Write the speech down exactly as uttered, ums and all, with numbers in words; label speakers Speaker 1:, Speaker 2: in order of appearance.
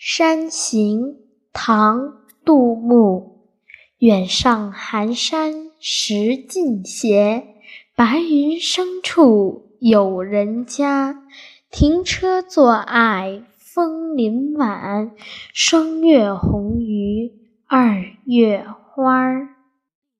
Speaker 1: 山行，唐·杜牧。远上寒山石径斜，白云深处有人家。停车坐爱枫林晚，霜月红于二月花。